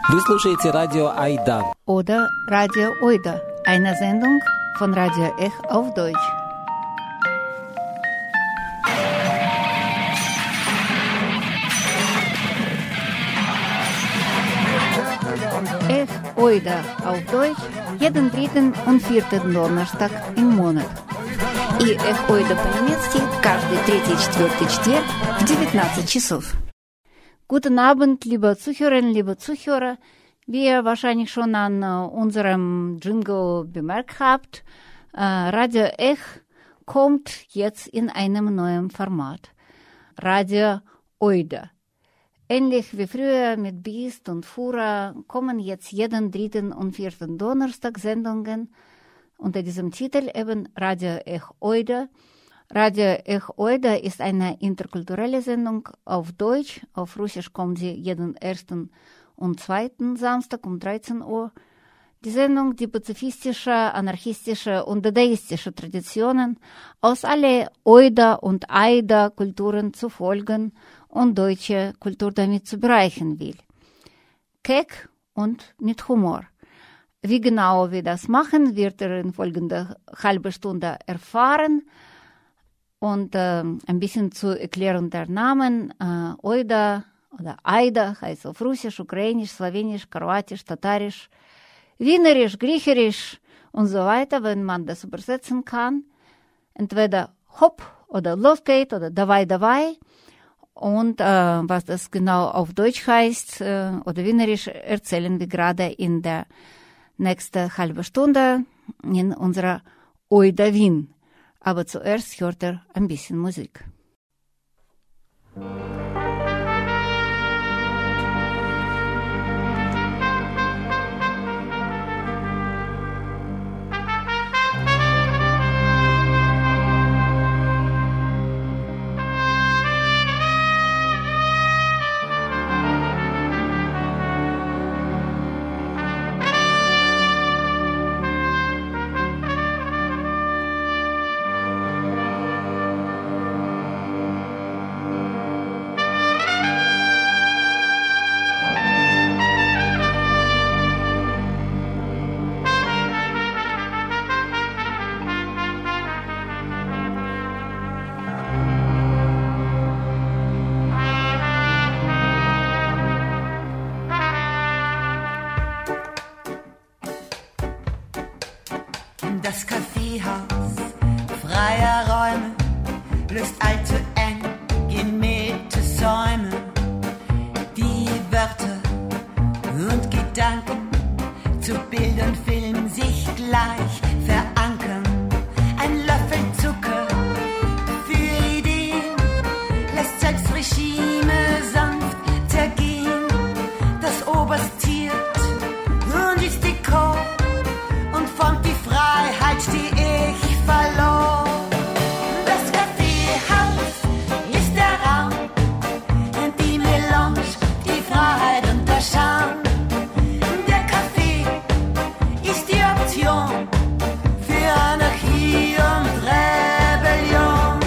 Вы слушаете радио Айда. Oder Radio Oida, eine Sendung von Radio Ech auf Deutsch. Ech Oida auf Deutsch jeden dritten und vierten Donnerstag im Monat. И Ech Oida по-немецки каждый третий и четвертый четверг в 19 часов. Guten Abend, liebe Zuhörerinnen, liebe Zuhörer. Wie ihr wahrscheinlich schon an unserem Jingle bemerkt habt, Radio Ech kommt jetzt in einem neuen Format. Radio Oida. Ähnlich wie früher mit Biest und Fura kommen jetzt jeden dritten und vierten Donnerstag Sendungen unter diesem Titel eben Radio Ech Oida. Radio Ech Oida ist eine interkulturelle Sendung auf Deutsch. Auf Russisch kommt sie jeden ersten und zweiten Samstag um 13 Uhr. Die Sendung, die pazifistische, anarchistische und dadaistische Traditionen aus alle Oida und Aida Kulturen zu folgen und deutsche Kultur damit zu bereichern will. Keck und mit Humor. Wie genau wir das machen, wird er in folgender halben Stunde erfahren. Und ein bisschen zur Erklärung der Namen. Oida oder Aida heißt auf Russisch, Ukrainisch, Slowenisch, Kroatisch, Tatarisch, Wienerisch, Griechisch und so weiter, wenn man das übersetzen kann. Entweder Hopp oder Los geht oder Davai, Davai. Und was das genau auf Deutsch heißt oder Wienerisch, erzählen wir gerade in der nächsten halben Stunde in unserer Oida Wien. Aber zuerst hört ein bisschen Musik. Das Kaffeehaus freier Räume löst allzu eng gemähte Säume. Die Wörter und Gedanken zu Bild und Film sich gleich verankern. Ein Löffel Zucker für Ideen lässt selbst Regime sanft zergehen. Das Oberst ziert und ist Dekor und formt die Freiheit, die ich verlor. Das Kaffeehaus ist der Raum, die Melange, die Freiheit und der Charme. Der Kaffee ist die Option für Anarchie und Rebellion.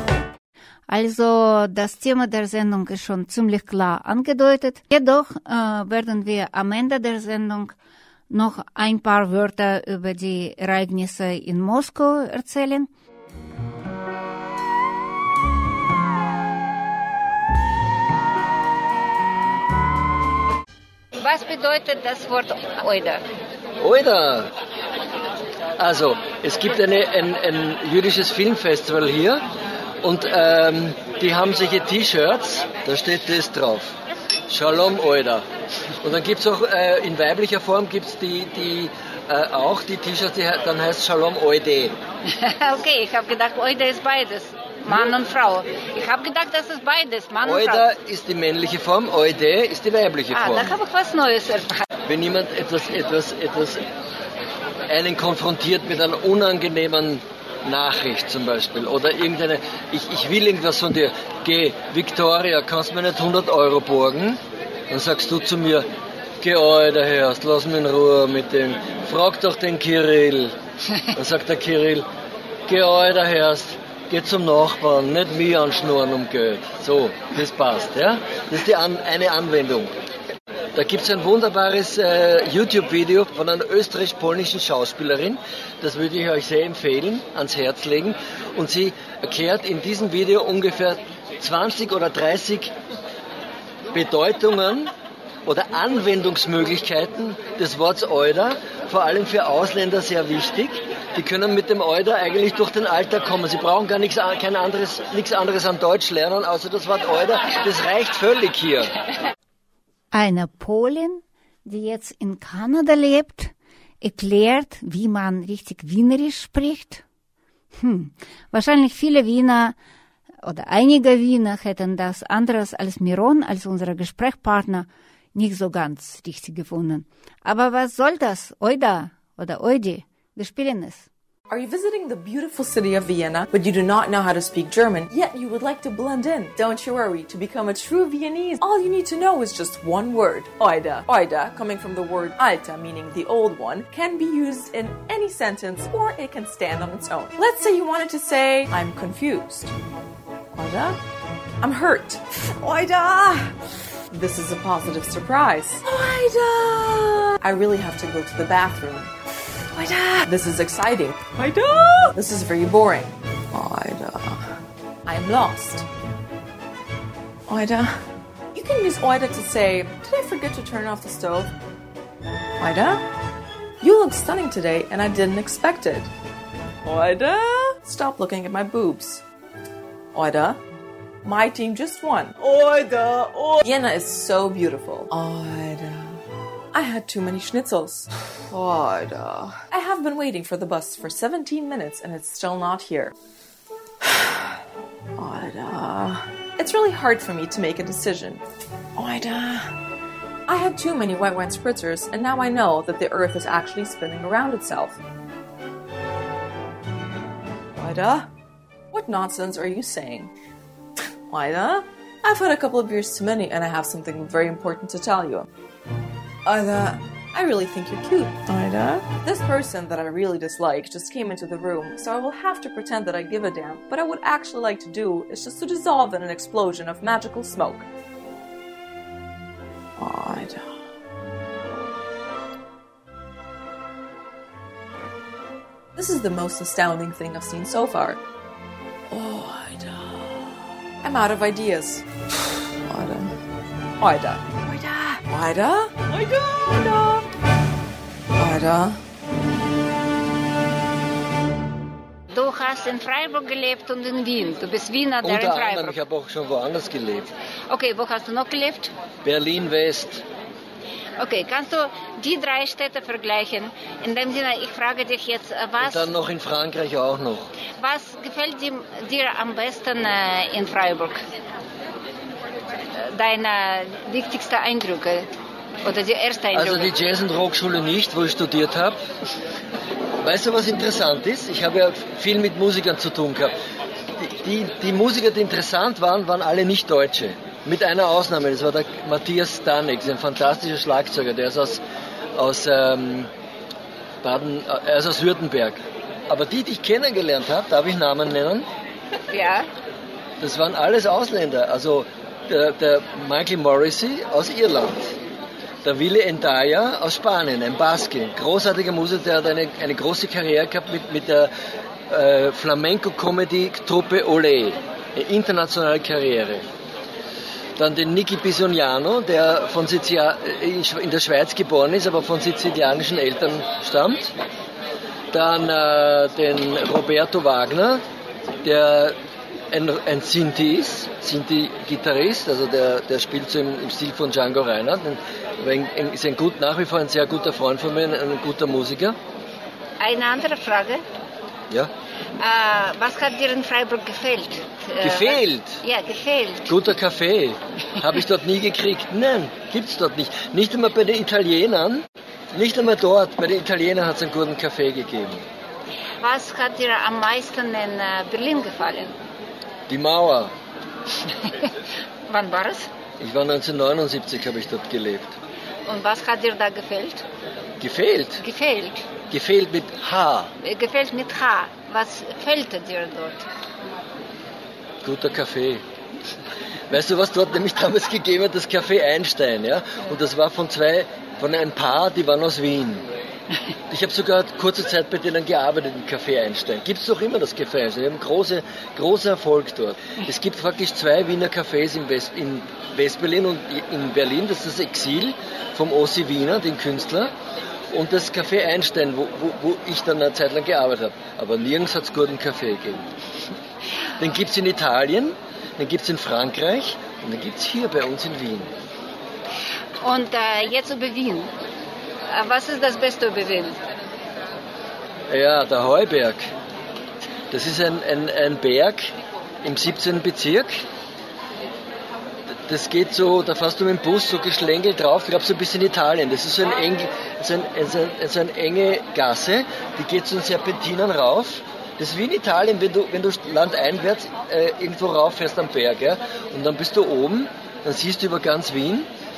Also das Thema der Sendung ist schon ziemlich klar angedeutet. Jedoch werden wir am Ende der Sendung noch ein paar Wörter über die Ereignisse in Moskau erzählen. Was bedeutet das Wort Oida? Oida! Also, es gibt ein jüdisches Filmfestival hier und die haben solche T-Shirts, da steht das drauf. Shalom Oida. Und dann gibt es auch in weiblicher Form gibt's auch die T-Shirts, die dann heißt Shalom Oide. Okay, ich habe gedacht, Oida ist beides, Mann und Frau. Ich habe gedacht, das ist beides, Mann und Frau. Oida ist die männliche Form, Oide ist die weibliche Form. Da habe ich was Neues erfahren. Wenn jemand einen konfrontiert mit einer unangenehmen Nachricht zum Beispiel oder irgendeine, ich will irgendwas von dir, geh, Victoria, kannst du mir nicht 100 Euro borgen? Dann sagst du zu mir, geh, Alter, Herrst, lass mich in Ruhe mit dem, frag doch den Kirill. Dann sagt der Kirill, geh, Alter, Herrst, geh zum Nachbarn, nicht mich anschnurren um Geld. So, das passt, ja? Das ist eine Anwendung. Da gibt es ein wunderbares YouTube-Video von einer österreichisch-polnischen Schauspielerin. Das würde ich euch sehr empfehlen, ans Herz legen. Und sie erklärt in diesem Video ungefähr 20 oder 30 Bedeutungen oder Anwendungsmöglichkeiten des Wortes Oida, vor allem für Ausländer sehr wichtig. Die können mit dem Oida eigentlich durch den Alltag kommen. Sie brauchen gar nichts anderes an Deutsch lernen, außer das Wort Oida. Das reicht völlig hier. Eine Polin, die jetzt in Kanada lebt, erklärt, wie man richtig Wienerisch spricht. Wahrscheinlich viele Wiener oder einige Wiener hätten das anderes als Miron, als unser Gesprächspartner, nicht so ganz richtig gefunden. Aber was soll das? Oida oder Oidi? Wir spielen es. Are you visiting the beautiful city of Vienna, but you do not know how to speak German, yet you would like to blend in? Don't you worry. To become a true Viennese, all you need to know is just one word, Oida. Oida, coming from the word alta, meaning the old one, can be used in any sentence or it can stand on its own. Let's say you wanted to say, I'm confused. Oida? I'm hurt. Oida! This is a positive surprise. Oida! I really have to go to the bathroom. Oida! This is exciting. Oida! This is very boring. Oida! I am lost. Oida! You can use Oida to say, did I forget to turn off the stove? Oida! You look stunning today and I didn't expect it. Oida! Stop looking at my boobs. Oida! My team just won. Oida! Vienna is so beautiful. Oida! I had too many schnitzels. Oida! I have been waiting for the bus for 17 minutes and it's still not here. Oida! It's really hard for me to make a decision. Oida! I had too many white wine spritzers and now I know that the earth is actually spinning around itself. Oida? What nonsense are you saying? Oida? I've had a couple of beers too many and I have something very important to tell you. Oida, I really think you're cute. Oida? This person that I really dislike just came into the room, so I will have to pretend that I give a damn. But I would actually like to do is just to dissolve in an explosion of magical smoke. Oida. This is the most astounding thing I've seen so far. Oida. I'm out of ideas. Oida. Oida. Oida. Oida. Oida. Oida. Du hast in Freiburg gelebt und in Wien. Du bist Wiener, der in Unter Freiburg. anderem, ich habe auch schon woanders gelebt. Okay, wo hast du noch gelebt? Berlin-West. Okay, kannst du die 3 Städte vergleichen? In dem Sinne, ich frage dich jetzt, was... Und dann noch in Frankreich auch noch. Was gefällt dir am besten in Freiburg? Deine wichtigsten Eindrücke oder die ersten Eindrücke? Also die Jazz- und Rockschule nicht, wo ich studiert habe. Weißt du, was interessant ist? Ich habe ja viel mit Musikern zu tun gehabt. Die Musiker, die interessant waren, waren alle nicht Deutsche. Mit einer Ausnahme, das war der Matthias Stanek, ein fantastischer Schlagzeuger, der ist aus Württemberg. Aber die ich kennengelernt habe, darf ich Namen nennen? Ja. Das waren alles Ausländer. Also der Michael Morrissey aus Irland, der Willy Endaya aus Spanien, ein Baske, großartiger Musiker, der hat eine große Karriere gehabt mit der Flamenco-Comedy-Truppe Olé, eine internationale Karriere. Dann den Nicky Bisogniano, der in der Schweiz geboren ist, aber von sizilianischen Eltern stammt. Dann den Roberto Wagner, der ein Sinti ist, Sinti-Gitarrist, also der spielt so im Stil von Django Reinhardt. Ist nach wie vor ein sehr guter Freund von mir, ein guter Musiker. Eine andere Frage. Ja. Was hat dir in Freiburg gefällt? Gefehlt? Ja, gefehlt. Guter Kaffee. Habe ich dort nie gekriegt. Nein, gibt's dort nicht. Nicht einmal bei den Italienern. Nicht einmal dort. Bei den Italienern hat es einen guten Kaffee gegeben. Was hat dir am meisten in Berlin gefallen? Die Mauer. Wann war es? Ich war 1979, habe ich dort gelebt. Und was hat dir da gefällt? Gefehlt? Gefällt. Gefehlt mit H. Gefällt mit H. Was fällt dir dort? Guter Kaffee. Weißt du, was dort nämlich damals gegeben hat? Das Café Einstein, ja? Und das war von ein Paar, die waren aus Wien. Ich habe sogar kurze Zeit bei denen gearbeitet im Café Einstein. Gibt es doch immer das Café Einstein. Wir haben großen Erfolg dort. Es gibt praktisch 2 Wiener Cafés in West-Berlin und in Berlin. Das ist das Exil vom Ossi Wiener, den Künstler. Und das Café Einstein, wo ich dann eine Zeit lang gearbeitet habe. Aber nirgends hat es guten Kaffee gegeben. Den gibt es in Italien, den gibt es in Frankreich und den gibt es hier bei uns in Wien. Und jetzt über Wien. Was ist das Beste über Wien? Ja, der Heuberg. Das ist ein Berg im 17. Bezirk. Das geht so, da fährst du mit dem Bus so geschlängelt drauf, ich glaube so ein bisschen Italien. Das ist so eine enge Gasse, die geht so in Serpentinen rauf. Das ist wie in Italien, wenn du landeinwärts irgendwo rauf fährst am Berg. Ja? Und dann bist du oben, dann siehst du über ganz Wien.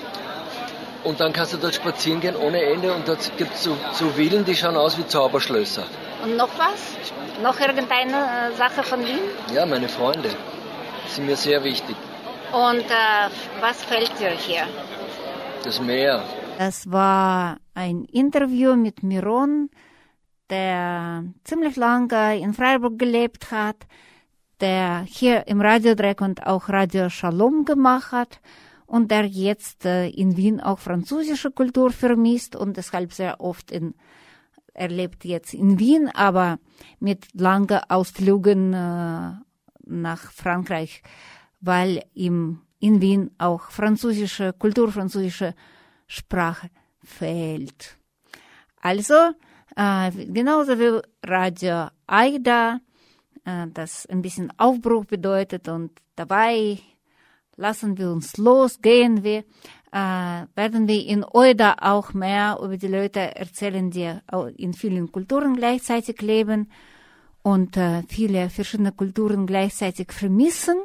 Und dann kannst du dort spazieren gehen ohne Ende und dort gibt es so Villen, die schauen aus wie Zauberschlösser. Und noch was? Noch irgendeine Sache von Wien? Ja, meine Freunde. Die sind mir sehr wichtig. Und was fällt dir hier? Das Meer. Das war ein Interview mit Miron, der ziemlich lange in Freiburg gelebt hat, der hier im Radio Dreck und auch Radio Shalom gemacht hat. Und der jetzt in Wien auch französische Kultur vermisst und deshalb sehr oft er lebt jetzt in Wien, aber mit langen Ausflügen nach Frankreich, weil ihm in Wien auch französische Kultur, französische Sprache fehlt. Also, genauso wie Radio Aida, das ein bisschen Aufbruch bedeutet und dabei lassen wir uns los, gehen wir, werden wir in Oida auch mehr über die Leute erzählen, die in vielen Kulturen gleichzeitig leben und viele verschiedene Kulturen gleichzeitig vermissen.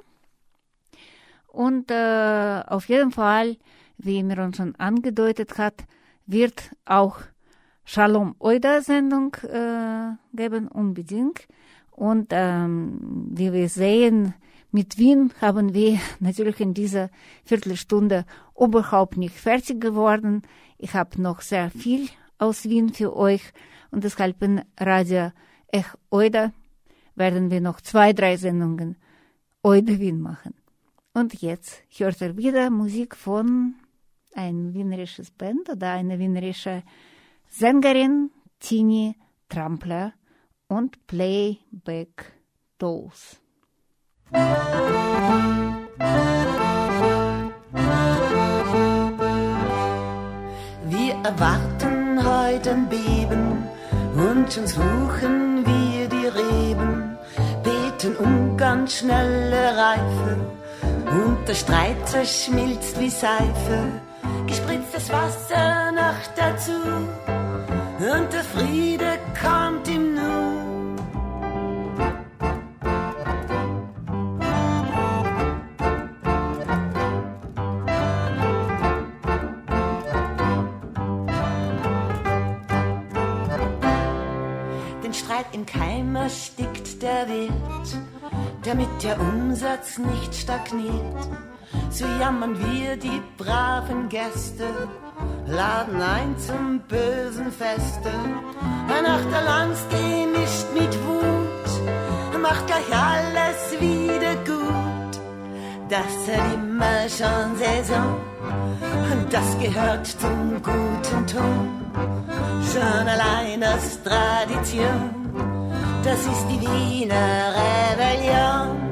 Und auf jeden Fall, wie Miron schon angedeutet hat, wird auch Shalom Oida Sendung geben, unbedingt. Und wie wir sehen, mit Wien haben wir natürlich in dieser Viertelstunde überhaupt nicht fertig geworden. Ich habe noch sehr viel aus Wien für euch und deshalb in Radio Ech Oida werden wir noch 2-3 Sendungen Oida Wien machen. Und jetzt hört ihr wieder Musik von ein wienerisches Band oder eine wienerische Sängerin, Tini Trampler und Playback Dolls. Wir erwarten heute ein Beben und schon suchen wir die Reben, beten um ganz schnelle Reife und der Streit zerschmilzt wie Seife, gespritztes Wasser noch dazu und der Friede kommt im Nu. Im Keim erstickt der Wirt, damit der Umsatz nicht stagniert. So jammern wir die braven Gäste, laden ein zum bösen Feste. Nach der Lanz gemischt mit Wut, macht gleich alles wieder gut. Das hat immer schon Saison, das gehört zum guten Ton. Schon allein aus Tradition, das ist die Wiener Rebellion.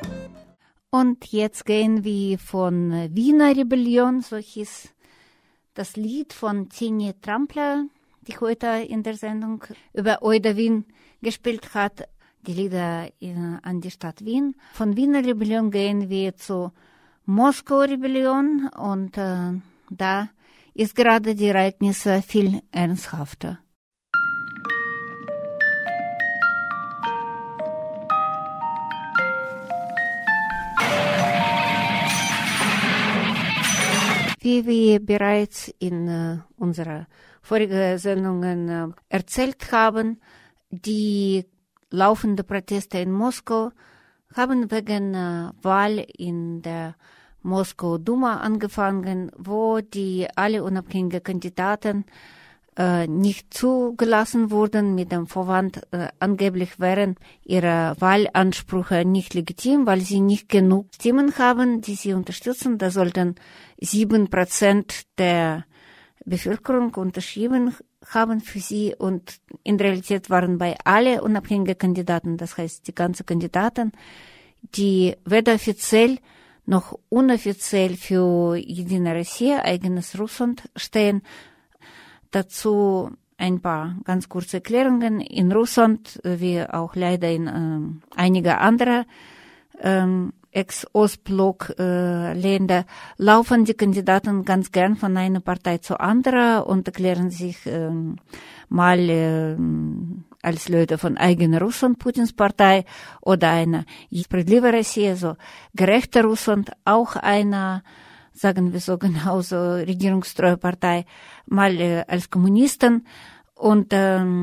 Und jetzt gehen wir von Wiener Rebellion, so hieß das Lied von Tini Trampler, die heute in der Sendung über Oida Wien gespielt hat, die Lieder an die Stadt Wien. Von Wiener Rebellion gehen wir zu Moskau-Rebellion und da ist gerade die Ereignisse viel ernsthafter. Wie wir bereits in unserer vorigen Sendungen erzählt haben, die laufenden Proteste in Moskau haben wegen Wahl in der Moskau Duma angefangen, wo die alle unabhängigen Kandidaten nicht zugelassen wurden mit dem Vorwand, angeblich wären ihre Wahlansprüche nicht legitim, weil sie nicht genug Stimmen haben, die sie unterstützen. Da sollten 7% der Bevölkerung unterschrieben haben für sie und in Realität waren bei alle unabhängigen Kandidaten, das heißt die ganzen Kandidaten, die weder offiziell noch unoffiziell für Единая Россия, eigenes Russland stehen. Dazu ein paar ganz kurze Erklärungen. In Russland, wie auch leider in einige andere Ex-Ostblock-Länder, laufen die Kandidaten ganz gern von einer Partei zur anderen und erklären sich mal als Leute von eigener Russland, Putins Partei, oder einer Справедливая Россия, so gerechter Russland, auch einer, sagen wir so genauso, regierungstreue Partei, mal als Kommunisten. Und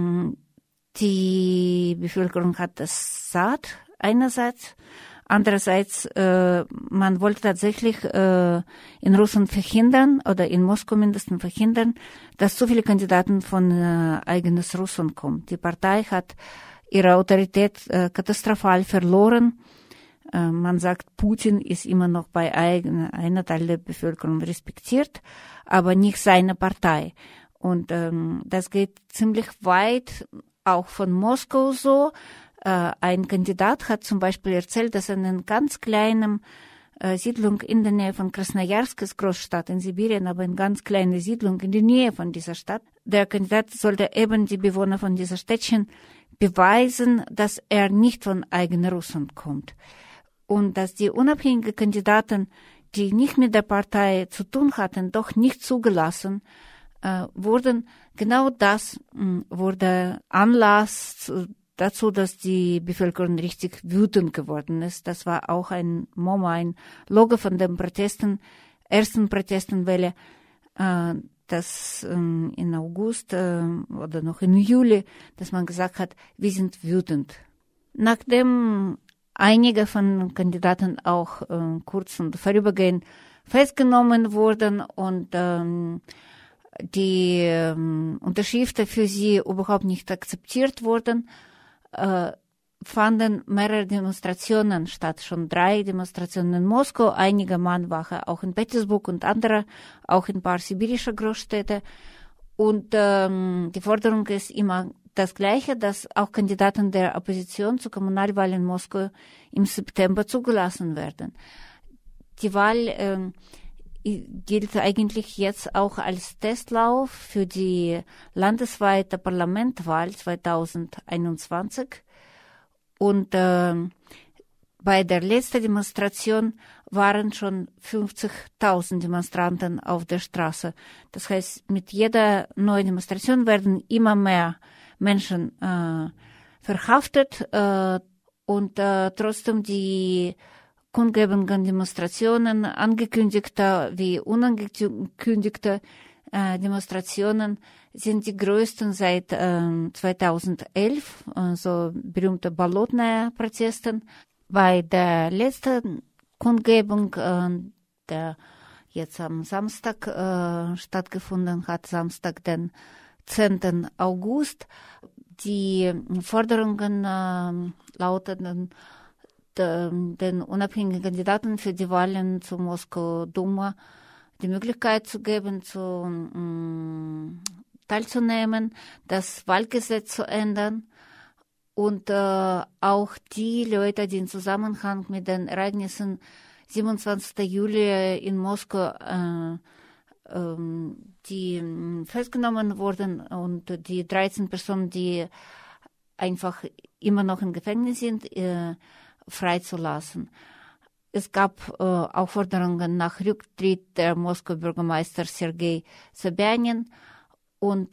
die Bevölkerung hat das satt, einerseits. Andererseits, man wollte tatsächlich in Russland verhindern, oder in Moskau mindestens verhindern, dass so viele Kandidaten von eigenes Russland kommen. Die Partei hat ihre Autorität katastrophal verloren. Man sagt, Putin ist immer noch bei einer Teil der Bevölkerung respektiert, aber nicht seine Partei. Und das geht ziemlich weit, auch von Moskau so. Ein Kandidat hat zum Beispiel erzählt, dass in einer ganz kleinen Siedlung in der Nähe von Krasnojarsk, ist Großstadt in Sibirien, aber eine ganz kleine Siedlung in der Nähe von dieser Stadt, der Kandidat sollte eben die Bewohner von dieser Städtchen beweisen, dass er nicht von eigener Russland kommt. Und dass die unabhängigen Kandidaten, die nicht mit der Partei zu tun hatten, doch nicht zugelassen wurden. Genau das wurde Anlass dazu, dass die Bevölkerung richtig wütend geworden ist. Das war auch ein Logo von den ersten Protestenwelle, das in August oder noch in Juli, dass man gesagt hat, wir sind wütend. Nachdem einige von Kandidaten auch kurz und vorübergehend festgenommen wurden und die Unterschriften für sie überhaupt nicht akzeptiert wurden, fanden mehrere Demonstrationen statt, schon 3 Demonstrationen in Moskau, einige Mahnwache auch in Petersburg und andere, auch in ein paar sibirische Großstädte. Und die Forderung ist immer das Gleiche, dass auch Kandidaten der Opposition zur Kommunalwahl in Moskau im September zugelassen werden. Die Wahl gilt eigentlich jetzt auch als Testlauf für die landesweite Parlamentwahl 2021. Und bei der letzten Demonstration waren schon 50.000 Demonstranten auf der Straße. Das heißt, mit jeder neuen Demonstration werden immer mehr Menschen verhaftet und trotzdem die kundgebenden Demonstrationen, angekündigte wie unangekündigte Demonstrationen sind die größten seit 2011, so berühmte Bolotnaya-Protesten. Bei der letzten Kundgebung, der jetzt am Samstag stattgefunden hat, Samstag, den 10. August, die Forderungen lauteten, den unabhängigen Kandidaten für die Wahlen zur Moskau Duma die Möglichkeit zu geben, teilzunehmen, das Wahlgesetz zu ändern und auch die Leute, die im Zusammenhang mit den Ereignissen 27. Juli in Moskau die festgenommen wurden und die 13 Personen, die einfach immer noch im Gefängnis sind, freizulassen. Es gab auch Forderungen nach Rücktritt der Moskauer Bürgermeister Sergei Sobyanin und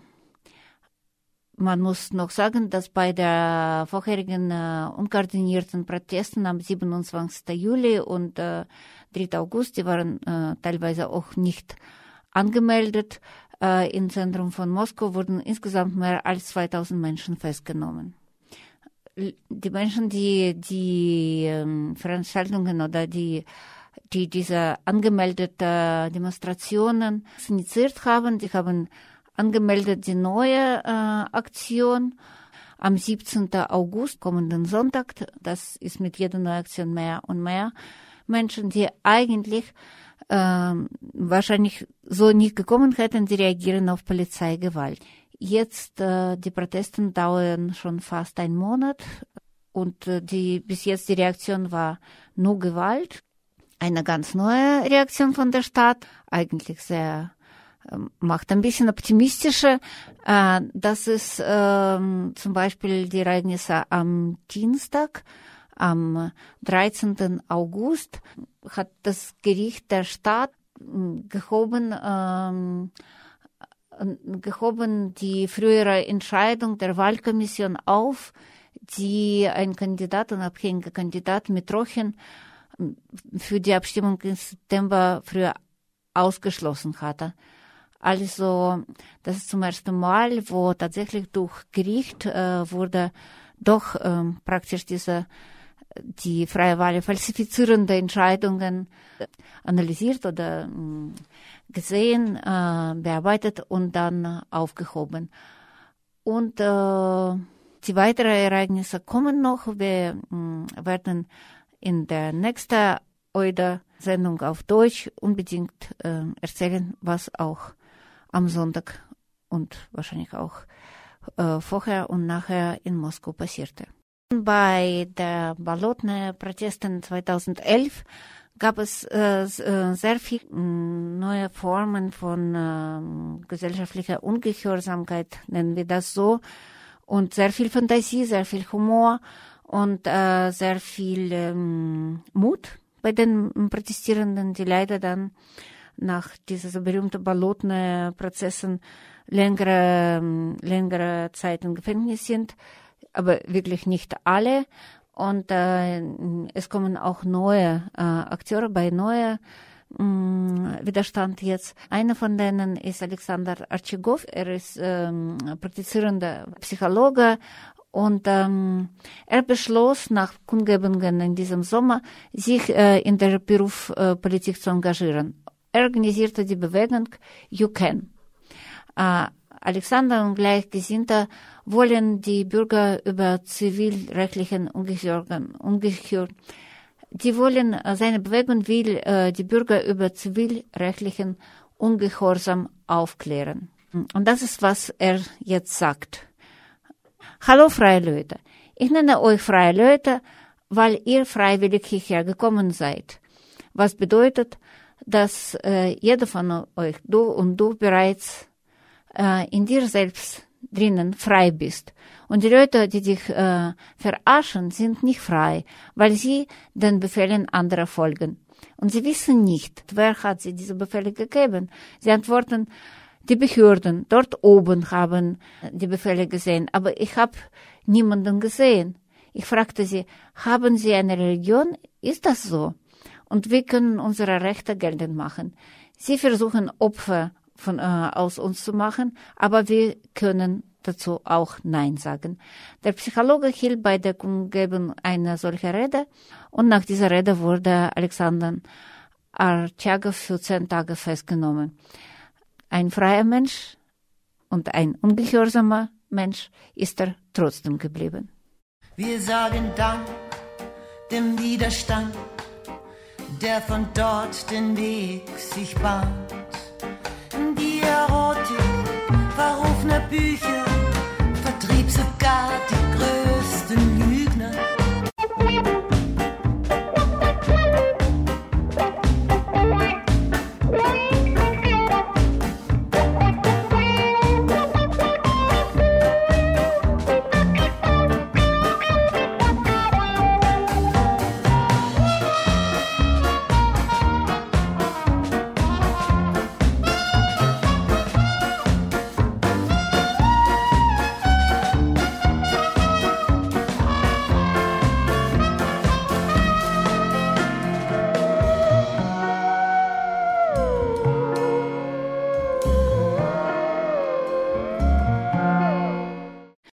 man muss noch sagen, dass bei der vorherigen unkoordinierten Protesten am 27. Juli und 3. August, die waren teilweise auch nicht angemeldet, im Zentrum von Moskau wurden insgesamt mehr als 2000 Menschen festgenommen. Die Menschen, die Veranstaltungen oder die diese angemeldeten Demonstrationen initiiert haben, die haben angemeldet die neue Aktion am 17. August, kommenden Sonntag. Das ist mit jeder neuen Aktion mehr und mehr Menschen, die eigentlich wahrscheinlich so nicht gekommen hätten, die reagieren auf Polizeigewalt. Jetzt, die Proteste dauern schon fast einen Monat und bis jetzt die Reaktion war nur Gewalt. Eine ganz neue Reaktion von der Stadt, eigentlich sehr macht ein bisschen optimistischer. Das ist zum Beispiel die Ereignisse am Dienstag, am 13. August, hat das Gericht der Stadt gehoben die frühere Entscheidung der Wahlkommission auf, die ein Kandidat, ein unabhängiger Kandidat Mitrochen für die Abstimmung im September früher ausgeschlossen hatte. Also, das ist zum ersten Mal, wo tatsächlich durch Gericht wurde doch praktisch die freie Wahl falsifizierende Entscheidungen analysiert oder gesehen, bearbeitet und dann aufgehoben. Und die weiteren Ereignisse kommen noch. Wir werden in der nächsten OIDA-Sendung auf Deutsch unbedingt erzählen, was auch am Sonntag und wahrscheinlich auch vorher und nachher in Moskau passierte. Bei der Bolotnaja-Protesten 2011 gab es sehr viele neue Formen von gesellschaftlicher Ungehorsamkeit, nennen wir das so, und sehr viel Fantasie, sehr viel Humor und sehr viel Mut bei den Protestierenden, die leider dann nach diesen so berühmten Bolotnaja-Prozessen längere Zeit im Gefängnis sind, aber wirklich nicht alle. Und es kommen auch neue Akteure bei neuer Widerstand jetzt. Einer von denen ist Alexander Archegov. Er ist praktizierender Psychologe und er beschloss nach Kundgebungen in diesem Sommer, sich in der Berufspolitik zu engagieren. Er organisierte die Bewegung You Can. Alexander und Gleichgesinnte wollen die Bürger über zivilrechtlichen seine Bewegung will die Bürger über zivilrechtlichen Ungehorsam aufklären. Und das ist, was er jetzt sagt. Hallo freie Leute, ich nenne euch freie Leute, weil ihr freiwillig hierher gekommen seid. Was bedeutet, dass jeder von euch, du und du bereits in dir selbst drinnen frei bist. Und die Leute, die dich verarschen, sind nicht frei, weil sie den Befehlen anderer folgen. Und sie wissen nicht, wer hat sie diese Befehle gegeben. Sie antworten, die Behörden dort oben haben die Befehle gesehen, aber ich habe niemanden gesehen. Ich fragte sie, haben Sie eine Religion? Ist das so? Und wir können unsere Rechte geltend machen. Sie versuchen Opfer aus uns zu machen, aber wir können dazu auch Nein sagen. Der Psychologe hielt bei der Kundgebung eine solche Rede und nach dieser Rede wurde Alexander Archegov für 10 Tage festgenommen. Ein freier Mensch und ein ungehorsamer Mensch ist er trotzdem geblieben. Wir sagen Dank dem Widerstand, der von dort den Weg sich bahnt. Die Erotik verrufener Bücher